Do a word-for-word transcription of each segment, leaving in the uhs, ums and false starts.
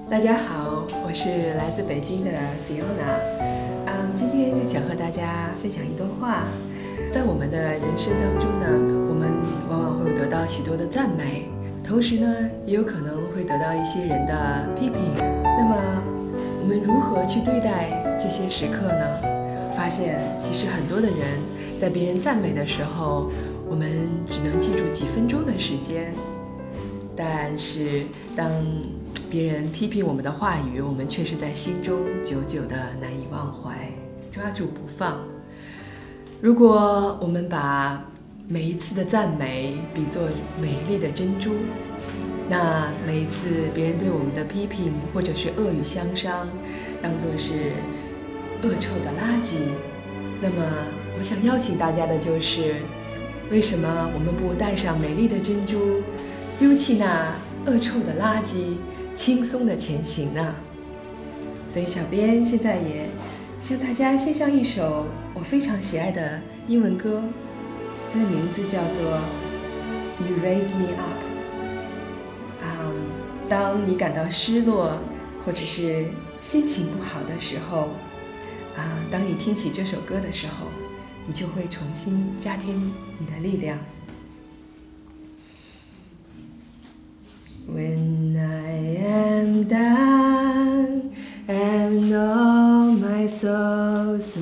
大家好，我是来自北京的 Fiona。嗯，今天想和大家分享一段话。在我们的人生当中呢，我们往往会得到许多的赞美，同时呢，也有可能会得到一些人的批评。那么，我们如何去对待这些时刻呢？发现其实很多的人在别人赞美的时候，我们只能记住几分钟的时间，但是当别人批评我们的话语，我们却是在心中久久的难以忘怀，抓住不放。如果我们把每一次的赞美比作美丽的珍珠，那每一次别人对我们的批评或者是恶语相伤，当作是恶臭的垃圾，那么我想邀请大家的就是，为什么我们不带上美丽的珍珠，丢弃那恶臭的垃圾，轻松的前行呢？所以小编现在也向大家献上一首我非常喜爱的英文歌，它的名字叫做 You Raise Me Up。嗯，当你感到失落或者是心情不好的时候，啊，当你听起这首歌的时候，你就会重新加添你的力量。When I am down and all my soul so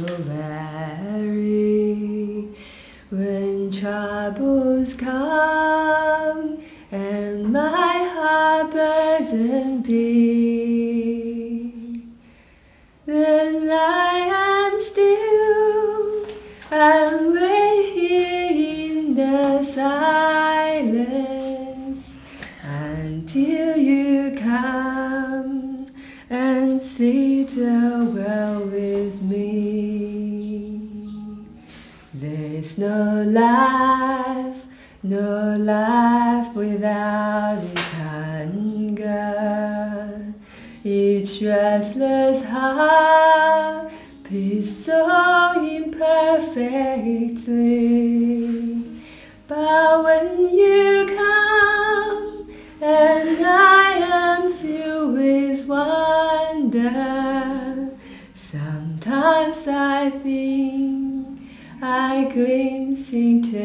weary, when troubles come and my heart burdened be, then I am still and wait here in the silence until you come and sit a well with me. There's no life, no life without its hunger. Each restless heart beats so imperfectly. But when you come and I am filled with wonder, sometimes I think I glimpse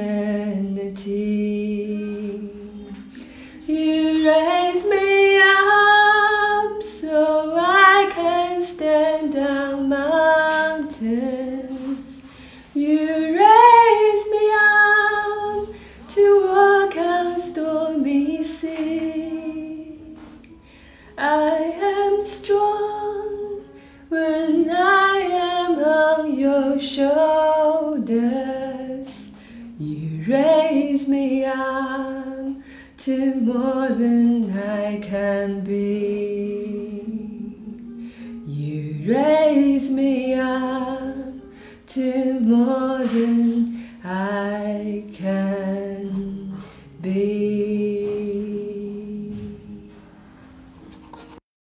eternity. You raise me up so I can stand down mountains. You raise me up to walk on stormy sea. I am strong when I am on your shoulders. You raise me up to more than I can be. You raise me up to more